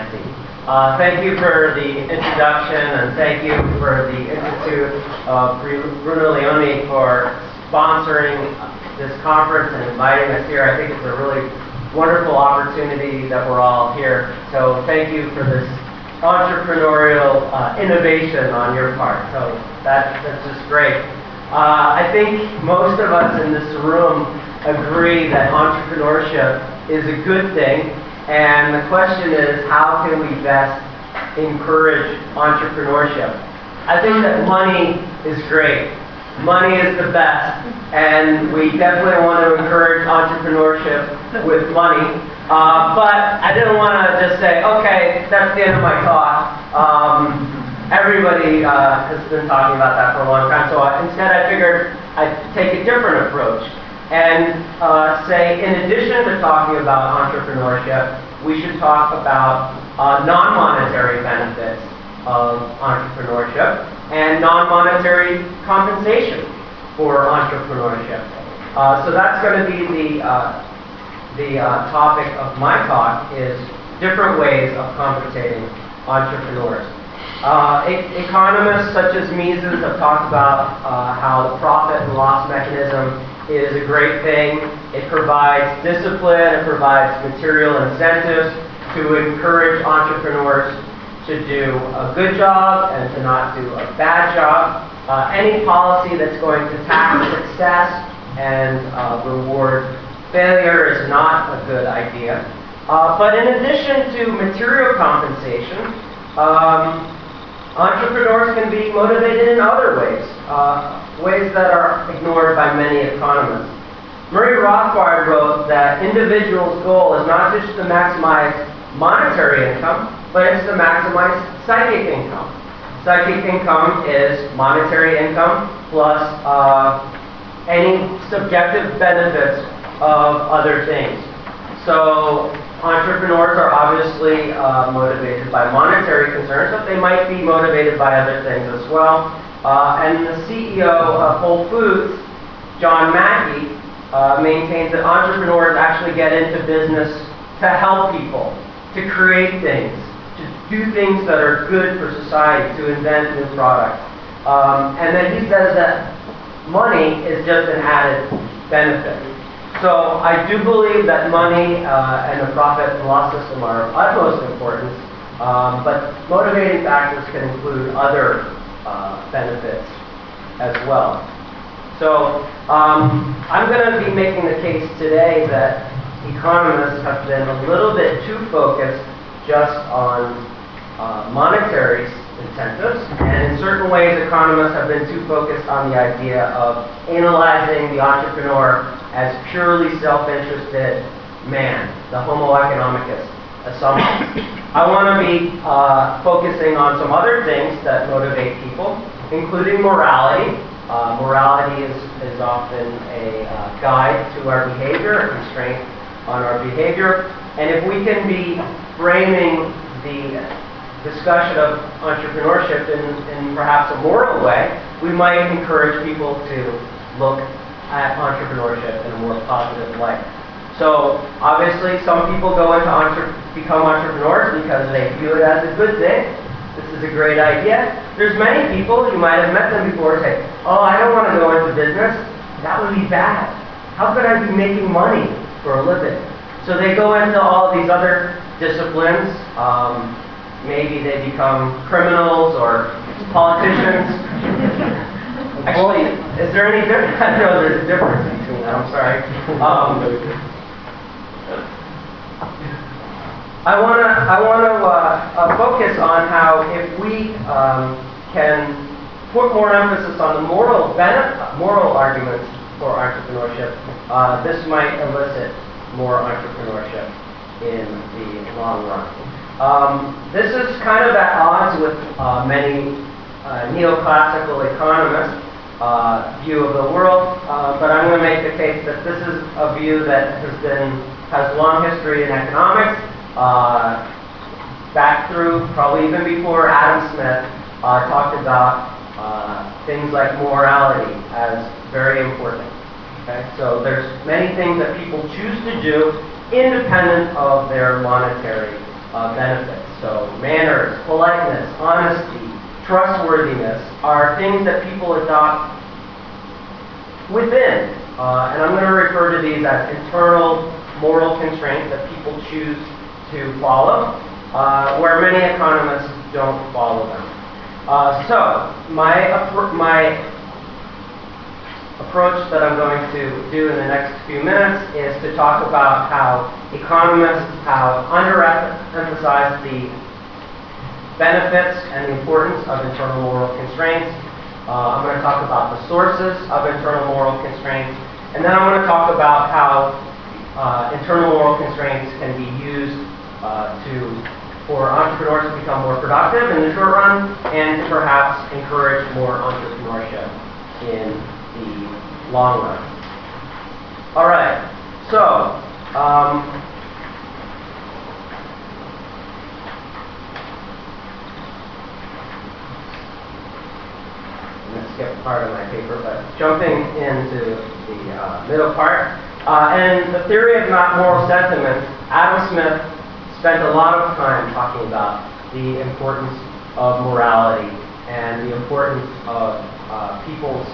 Nancy. Thank you for the introduction, and thank you for the Institute of Bruno Leoni for sponsoring this conference and inviting us here. I think it's a really wonderful opportunity that we're all here. So thank you for this entrepreneurial innovation on your part. So that's just great. I think most of us in this room agree that entrepreneurship is a good thing, and the question is, how can we best encourage entrepreneurship? I think that money is great. Money is the best, and we definitely want to encourage entrepreneurship with money. But I didn't want to just say, okay, that's the end of my talk. Everybody has been talking about that for a long time, so instead I figured I'd take a different approach and say, in addition to talking about entrepreneurship, we should talk about non-monetary benefits of entrepreneurship and non-monetary compensation for entrepreneurship. So that's going to be the topic of my talk, is different ways of compensating entrepreneurs. Economists such as Mises have talked about how the profit and loss mechanism is a great thing. It provides discipline, it provides material incentives to encourage entrepreneurs to do a good job and to not do a bad job. Any policy that's going to tax success and reward failure is not a good idea. But in addition to material compensation, entrepreneurs can be motivated in other ways, ways that are ignored by many economists. Murray Rothbard wrote that individuals' goal is not just to maximize monetary income, but it's to maximize psychic income. Psychic income is monetary income plus any subjective benefits of other things. So entrepreneurs are obviously motivated by monetary concerns, but they might be motivated by other things as well. And the CEO of Whole Foods, John Mackey, maintains that entrepreneurs actually get into business to help people, to create things, to do things that are good for society, to invent new products. And then he says that money is just an added benefit. So I do believe that money and the profit and loss system are of utmost importance, but motivating factors can include other benefits as well. So I'm going to be making the case today that economists have been a little bit too focused just on monetary incentives, and in certain ways economists have been too focused on the idea of analyzing the entrepreneur as purely self-interested man, the homo economicus assumption. I want to be focusing on some other things that motivate people, including morality. Morality is often a guide to our behavior, a constraint on our behavior. And if we can be framing the discussion of entrepreneurship in perhaps a moral way, we might encourage people to look at entrepreneurship in a more positive light. So obviously some people go into become entrepreneurs because they view it as a good thing. This is a great idea. There's many people, you might have met them before, say, oh, I don't want to go into business. That would be bad. How could I be making money for a living? So they go into all these other disciplines. Maybe they become criminals or politicians. Actually, is there any difference? I know there's a difference between that. I'm sorry. I want to focus on how if we can put more emphasis on the moral arguments for entrepreneurship, this might elicit more entrepreneurship in the long run. This is kind of at odds with many neoclassical economists' view of the world, but I'm going to make the case that this is a view that has long history in economics, back through probably even before Adam Smith talked about things like morality as very important. Okay? So there's many things that people choose to do independent of their monetary benefits. So manners, politeness, honesty, trustworthiness are things that people adopt within. And I'm going to refer to these as internal moral constraints that people choose to follow, where many economists don't follow them. So my approach that I'm going to do in the next few minutes is to talk about how economists have underemphasized the benefits and the importance of internal moral constraints. I'm going to talk about the sources of internal moral constraints, and then I'm going to talk about how internal moral constraints can be used for entrepreneurs to become more productive in the short run and to perhaps encourage more entrepreneurship in the long run. All right, so I'm going to skip part of my paper, but jumping into the middle part. And the theory of moral sentiments, Adam Smith spent a lot of time talking about the importance of morality and the importance of people's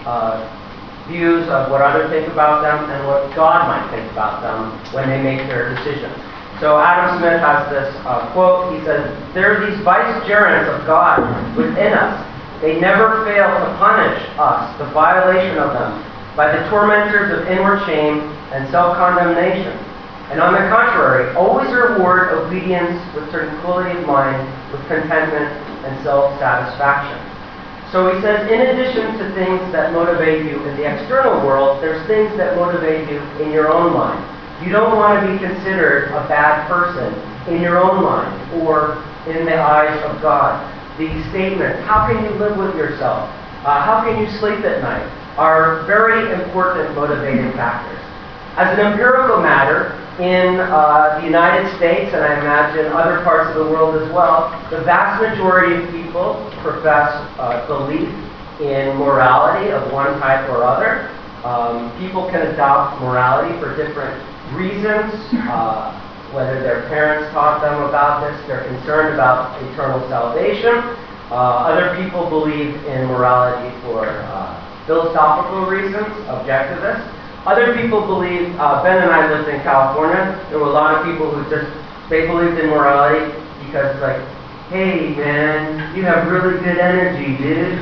views of what others think about them and what God might think about them when they make their decisions. So Adam Smith has this quote. He says, "There are these vicegerents of God within us. They never fail to punish us, the violation of them, by the tormentors of inward shame and self-condemnation. And on the contrary, always reward obedience with tranquility of mind, with contentment and self-satisfaction." So he says, in addition to things that motivate you in the external world, there's things that motivate you in your own mind. You don't want to be considered a bad person in your own mind or in the eyes of God. The statements, how can you live with yourself? How can you sleep at night? Are very important motivating factors. As an empirical matter, in the United States, and I imagine other parts of the world as well, the vast majority of people profess belief in morality of one type or other. People can adopt morality for different reasons, whether their parents taught them about this, they're concerned about eternal salvation. Other people believe in morality for philosophical reasons, objectivists. Other people believe, Ben and I lived in California, there were a lot of people who they believed in morality because it's like, hey man, you have really good energy, dude.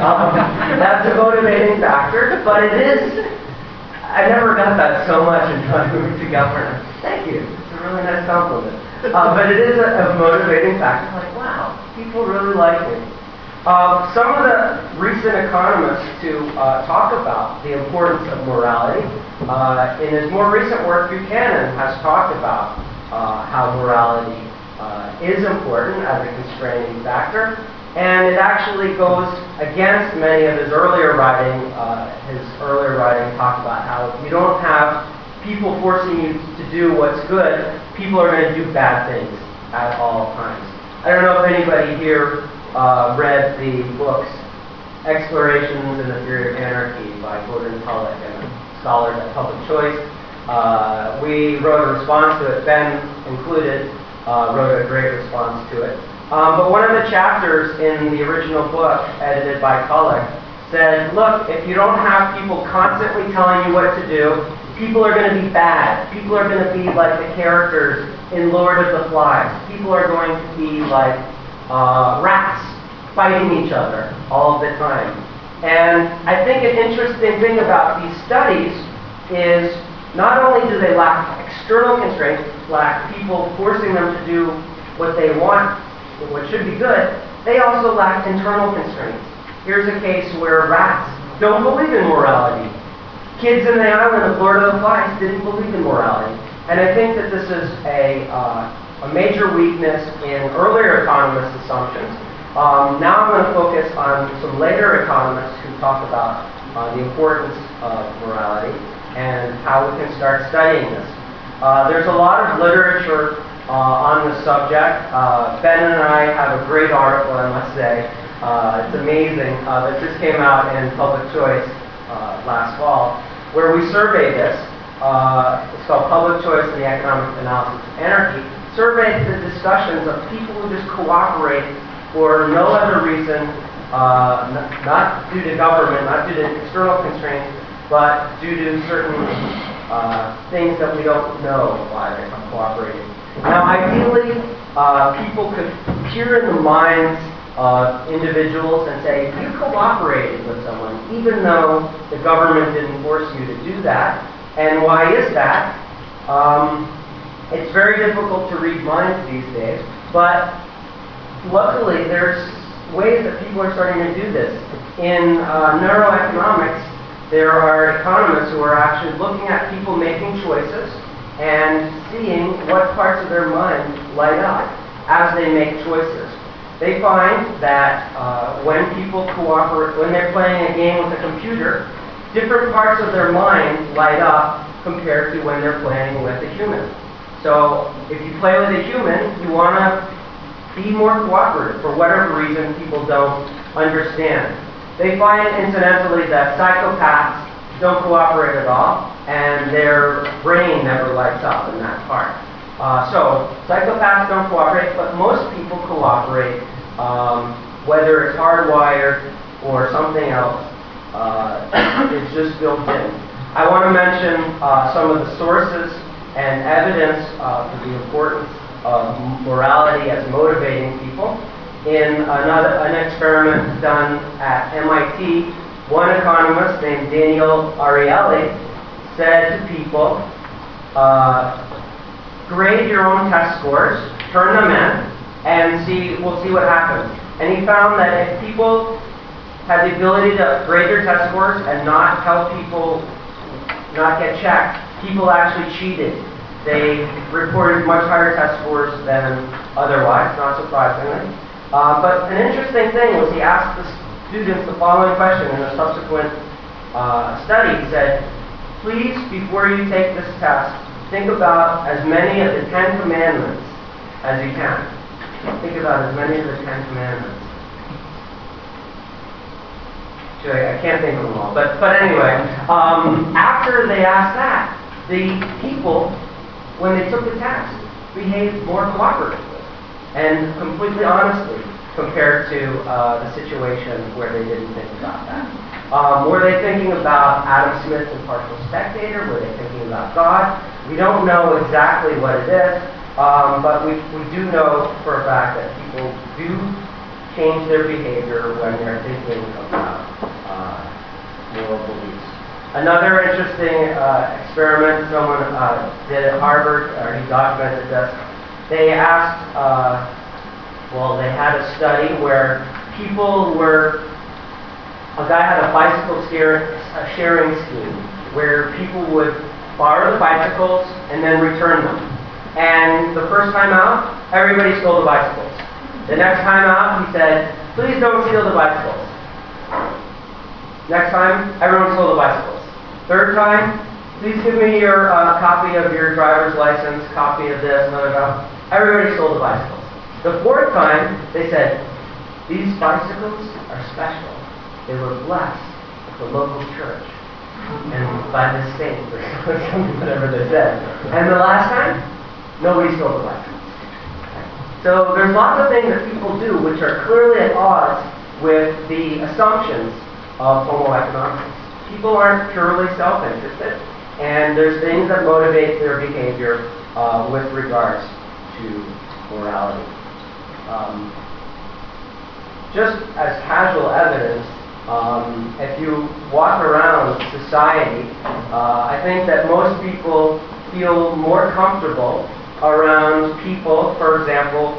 That's a motivating factor, but it is, I never got that so much until I moved to California. Thank you, it's a really nice compliment. But it is a motivating factor, like wow, people really like me. Some of the recent economists to talk about the importance of morality. In his more recent work, Buchanan has talked about how morality is important as a constraining factor, and it actually goes against many of his earlier writing. His earlier writing talked about how if you don't have people forcing you to do what's good, people are going to do bad things at all times. I don't know if anybody here read the books Explorations in the Theory of Anarchy by Gordon Tullock and scholars at Public Choice. We wrote a response to it. Ben included wrote a great response to it. But one of the chapters in the original book, edited by Tullock, said, look, if you don't have people constantly telling you what to do, people are going to be bad. People are going to be like the characters in Lord of the Flies. People are going to be like rats fighting each other all the time. And I think an interesting thing about these studies is not only do they lack external constraints, lack people forcing them to do what they want, what should be good, they also lack internal constraints. Here's a case where rats don't believe in morality. Kids in the island of Lord of the Flies didn't believe in morality. And I think that this is a major weakness in earlier economists' assumptions. Now I'm going to focus on some later economists who talk about the importance of morality and how we can start studying this. There's a lot of literature on the subject. Ben and I have a great article, I must say. It's amazing that this came out in Public Choice last fall, where we surveyed this. It's called Public Choice and the Economic Analysis of Anarchy. surveyed the discussions of people who just cooperate for no other reason, not due to government, not due to external constraints, but due to certain things that we don't know why they're cooperating. Now, ideally, people could peer in the minds of individuals and say, you cooperated with someone, even though the government didn't force you to do that. And why is that? It's very difficult to read minds these days, but luckily there's ways that people are starting to do this. In neuroeconomics, there are economists who are actually looking at people making choices and seeing what parts of their mind light up as they make choices. They find that when people cooperate, when they're playing a game with a computer, different parts of their mind light up compared to when they're playing with a human. So if you play with a human, you want to be more cooperative for whatever reason people don't understand. They find, incidentally, that psychopaths don't cooperate at all, and their brain never lights up in that part. So psychopaths don't cooperate, but most people cooperate, whether it's hardwired or something else. It's just built in. I want to mention some of the sources and evidence for the importance of morality as motivating people. In an experiment done at MIT, one economist named Daniel Ariely said to people, grade your own test scores, turn them in, and we'll see what happens. And he found that if people had the ability to grade their test scores and not tell people, not get checked, people actually cheated. They reported much higher test scores than otherwise, not surprisingly. But an interesting thing was he asked the students the following question in a subsequent study. He said, please, before you take this test, think about as many of the 10 commandments as you can. Think about as many of the 10 commandments. Actually, I can't think of them all. But anyway, after they asked that, the people, when they took the test, behaved more cooperatively and completely honestly compared to the situation where they didn't think about that. Were they thinking about Adam Smith's Impartial Spectator? Were they thinking about God? We don't know exactly what it is, but we do know for a fact that people do change their behavior when they're thinking about moral beliefs. Another interesting experiment someone did at Harvard, or he documented this. They asked, they had a study where people were, a guy had a bicycle sharing scheme where people would borrow the bicycles and then return them. And the first time out, everybody stole the bicycles. The next time out, he said, please don't steal the bicycles. Next time, everyone stole the bicycles. Third time, please give me your copy of your driver's license, copy of this, blah, blah, blah. Everybody stole the bicycles. The fourth time, they said, these bicycles are special. They were blessed at the local church and by the state, or something, whatever they said. And the last time, nobody stole the bicycles. So there's lots of things that people do which are clearly at odds with the assumptions of Homo economicus. People aren't purely self-interested, and there's things that motivate their behavior with regards to morality. Just as casual evidence, if you walk around society, I think that most people feel more comfortable around people. For example,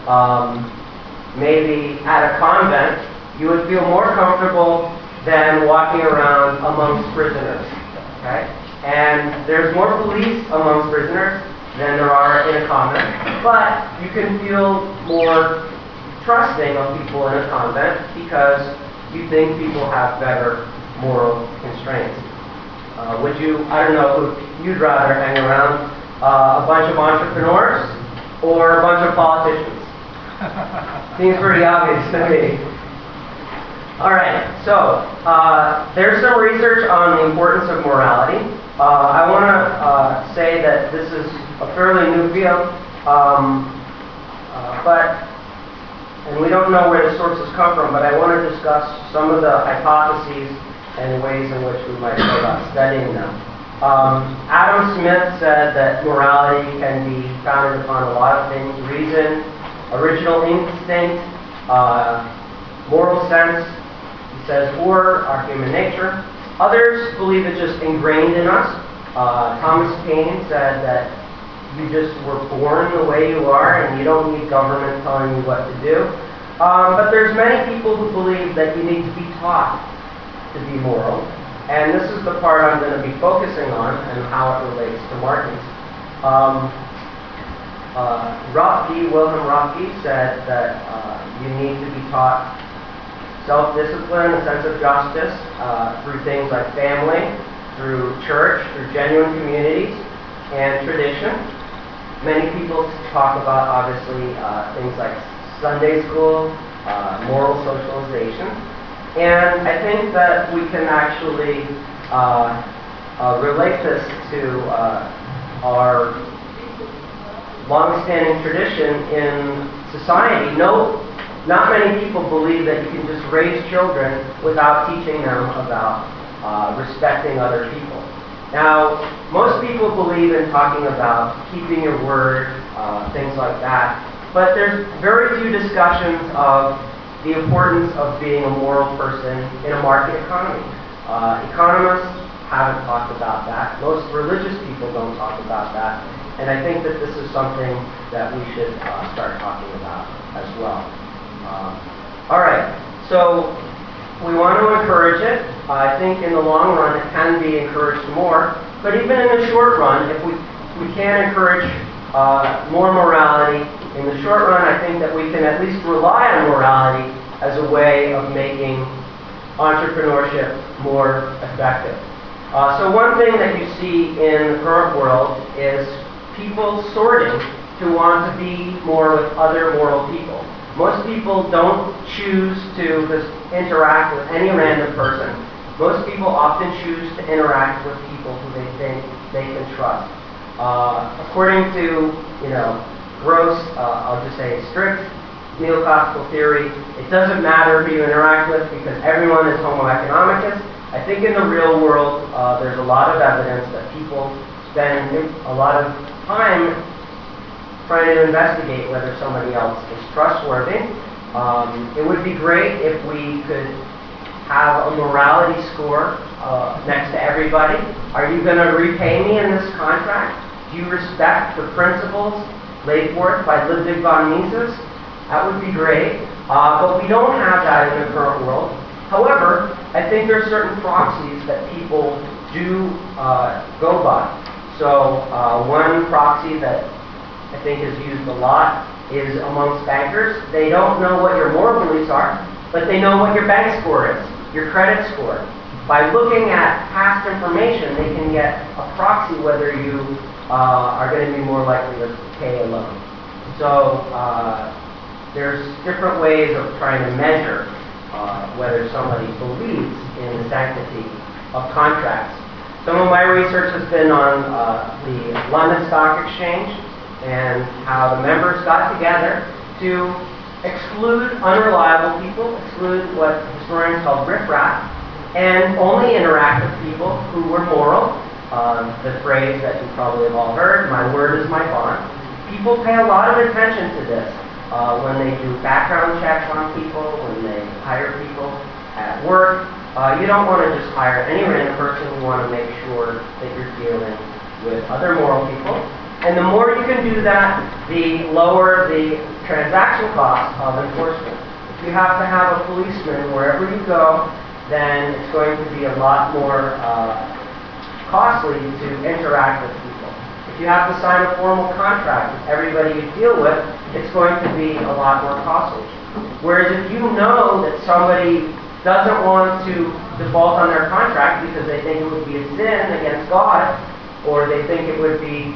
maybe at a convent, you would feel more comfortable than walking around amongst prisoners. Okay? And there's more police amongst prisoners than there are in a convent, but you can feel more trusting of people in a convent because you think people have better moral constraints. Would you, I don't know, who you'd rather hang around, a bunch of entrepreneurs or a bunch of politicians? Seems pretty obvious to me. All right, so there's some research on the importance of morality. I want to say that this is a fairly new field. Um, and we don't know where the sources come from, but I want to discuss some of the hypotheses and ways in which we might go about studying them. Adam Smith said that morality can be founded upon a lot of things: reason, original instinct, moral sense. He says, or our human nature. Others believe it's just ingrained in us. Thomas Paine said that you just were born the way you are and you don't need government telling you what to do. But there's many people who believe that you need to be taught to be moral. And this is the part I'm going to be focusing on and how it relates to Martin's. Wilhelm Röpke said that you need to be taught self-discipline, a sense of justice, through things like family, through church, through genuine communities, and tradition. Many people talk about, obviously, things like Sunday school, moral socialization. And I think that we can actually relate this to our long-standing tradition in society. Not many people believe that you can just raise children without teaching them about respecting other people. Now, most people believe in talking about keeping your word, things like that, but there's very few discussions of the importance of being a moral person in a market economy. Economists haven't talked about that. Most religious people don't talk about that. And I think that this is something that we should start talking about as well. All right, so we want to encourage it. I think in the long run it can be encouraged more. But even in the short run, if we can encourage more morality, in the short run I think that we can at least rely on morality as a way of making entrepreneurship more effective. So one thing that you see in the current world is people sorting to want to be more with other moral people. Most people don't choose to just interact with any random person. Most people often choose to interact with people who they think they can trust. According to, gross, I'll just say strict neoclassical theory, it doesn't matter who you interact with because everyone is homo economicus. I think in the real world, there's a lot of evidence that people spend a lot of time trying to investigate whether somebody else is trustworthy. It would be great if we could have a morality score next to everybody. Are you going to repay me in this contract? Do you respect the principles laid forth by Ludwig von Mises? That would be great. But we don't have that in the current world. However, I think there are certain proxies that people do go by. So one proxy that I think is used a lot is amongst bankers. They don't know what your moral beliefs are, but they know what your bank score is, your credit score. By looking at past information, they can get a proxy whether you are going to be more likely to pay a loan. So there's different ways of trying to measure whether somebody believes in the sanctity of contracts. Some of my research has been on the London Stock Exchange and how the members got together to exclude unreliable people, exclude what historians call riffraff, and only interact with people who were moral. The phrase that you probably have all heard, my word is my bond. People pay a lot of attention to this when they do background checks on people, when they hire people at work. You don't want to just hire any random person. You want to make sure that you're dealing with other moral people. And the more you can do that, the lower the transaction cost of enforcement. If you have to have a policeman wherever you go, then it's going to be a lot more costly to interact with people. If you have to sign a formal contract with everybody you deal with, it's going to be a lot more costly. Whereas if you know that somebody doesn't want to default on their contract because they think it would be a sin against God, or they think it would be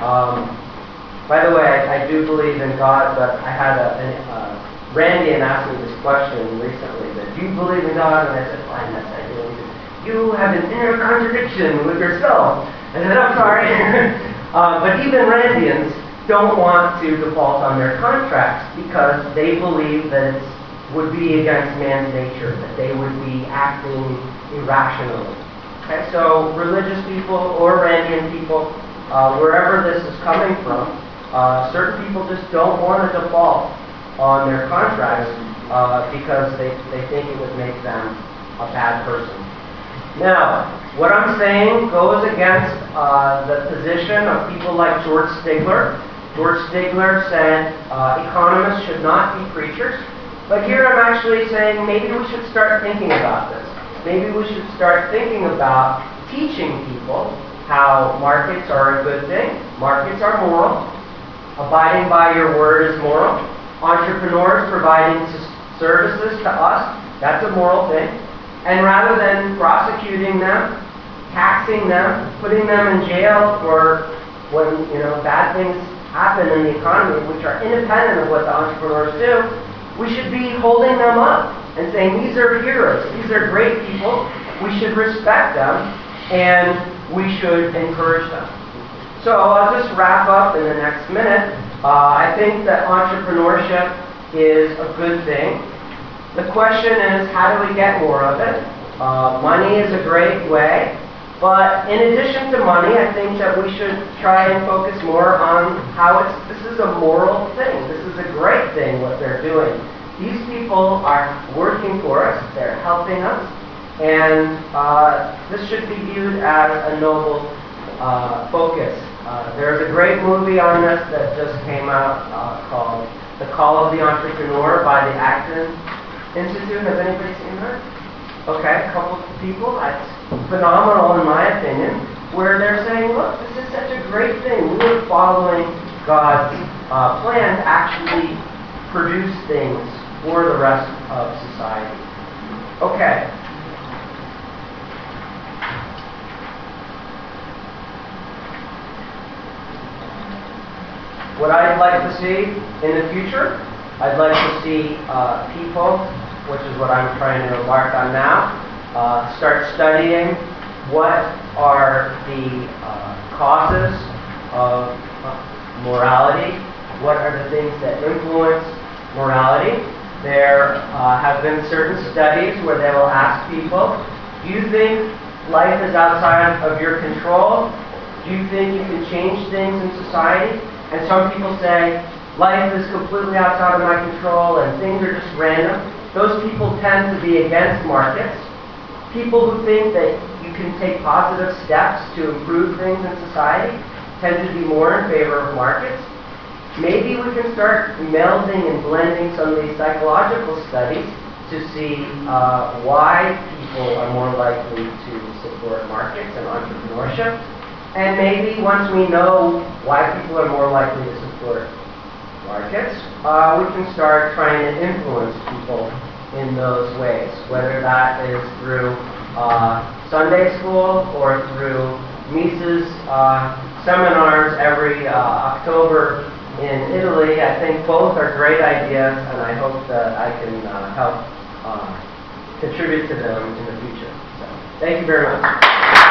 by the way, I do believe in God, but I had Randy asked me this question recently, that do you believe in God? And I said, fine, yes, I do. He said, you have an inner contradiction with yourself. I said, I'm sorry. But even Randians don't want to default on their contracts because they believe that it would be against man's nature, that they would be acting irrationally. Okay, so religious people or Randian people, wherever this is coming from, certain people just don't want to default on their contracts because they think it would make them a bad person. Now, what I'm saying goes against the position of people like George Stigler. George Stigler said economists should not be preachers. But here I'm actually saying maybe we should start thinking about this. Maybe we should start thinking about teaching people how markets are a good thing. Markets are moral. Abiding by your word is moral. Entrepreneurs providing services to us, that's a moral thing. And rather than prosecuting them, taxing them, putting them in jail for when bad things happen in the economy, which are independent of what the entrepreneurs do, we should be holding them up and saying these are heroes, these are great people, we should respect them, and we should encourage them. So I'll just wrap up in the next minute. I think that entrepreneurship is a good thing. The question is, how do we get more of it? Money is a great way, but in addition to money, I think that we should try and focus more on how this is a moral thing. This is a great thing, what they're doing. These people are working for us, they're helping us, and this should be viewed as a noble focus. There's a great movie on this that just came out called The Call of the Entrepreneur by the Acton Institute. Has anybody seen that? Okay, a couple of people. It's phenomenal in my opinion, where they're saying, look, this is such a great thing. We're following God's plan to actually produce things for the rest of society. Okay. What I'd like to see in the future, I'd like to see people, which is what I'm trying to embark on now, start studying what are the causes of morality, what are the things that influence morality. There have been certain studies where they will ask people, do you think life is outside of your control? Do you think you can change things in society? And some people say, life is completely outside of my control and things are just random. Those people tend to be against markets. People who think that you can take positive steps to improve things in society tend to be more in favor of markets. Maybe we can start melding and blending some of these psychological studies to see why people are more likely to support markets and entrepreneurship. And maybe once we know why people are more likely to support markets, we can start trying to influence people in those ways, whether that is through Sunday school or through Mises seminars every October in Italy. I think both are great ideas, and I hope that I can help contribute to them in the future. So, thank you very much.